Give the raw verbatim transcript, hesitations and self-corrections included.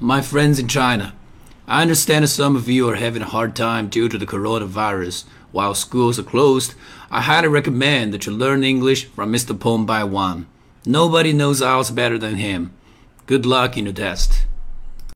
My friends in China, I understand some of you are having a hard time due to the coronavirus. While schools are closed, I highly recommend that you learn English from Mister Peng Bai Wan. Nobody knows I E L T S better than him. Good luck in your test.